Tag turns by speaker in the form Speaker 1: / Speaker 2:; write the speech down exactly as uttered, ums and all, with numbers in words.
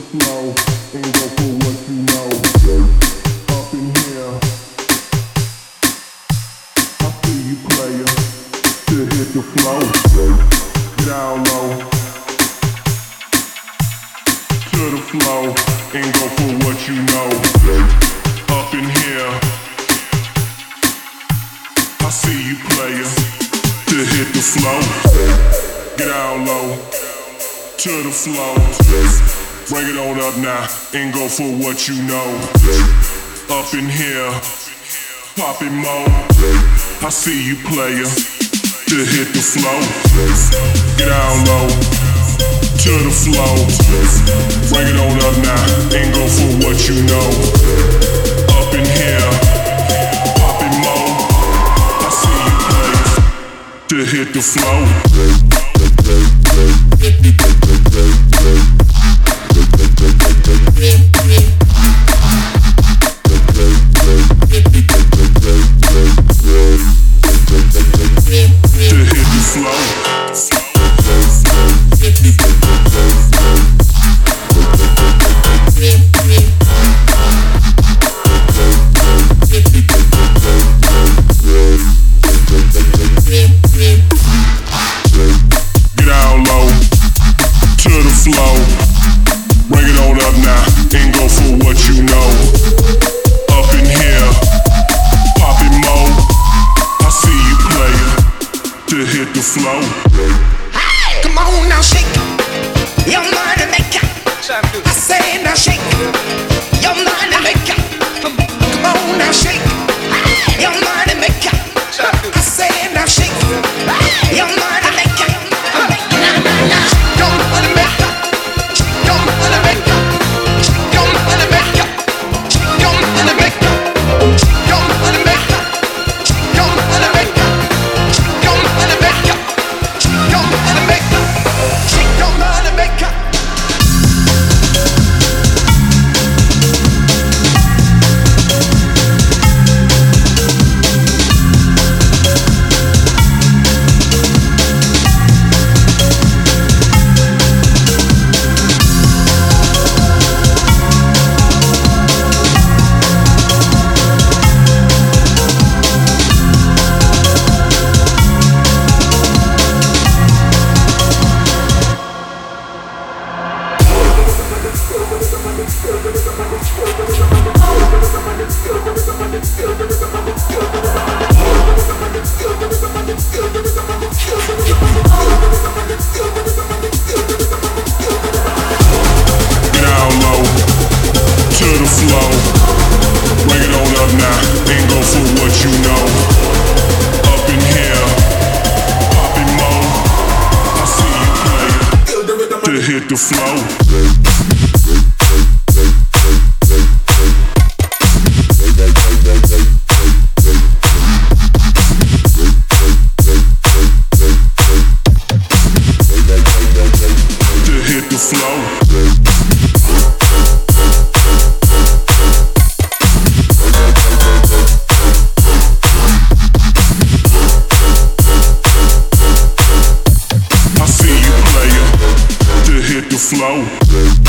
Speaker 1: flow and go for what you know. Up in here, I see you player, to hit the flow. Down low, to the flow and go for what you know. Up in here, I see you player, to hit the flow. Get down low, to the flow. Bring it on up now and go for what you know. Up in here, poppin' more. I see you player, to hit the flow. Get down low, to the flow. Bring it on up now and go for what you know. Up in here, poppin' more. I see you player, to hit the flow. Flow.
Speaker 2: Hey, come on now, shake your money maker. I say now, shake your money maker. Come, come on now, shake your money maker. I say now, shake your money maker. Nah, nah, nah. Shake your money maker. Shake your money maker. Shake your money maker. Shake your money maker. Shake your money maker. Shake your money maker. Shake your money maker. Shake your money maker. Shake your money maker.
Speaker 1: Hit the flow. Flow.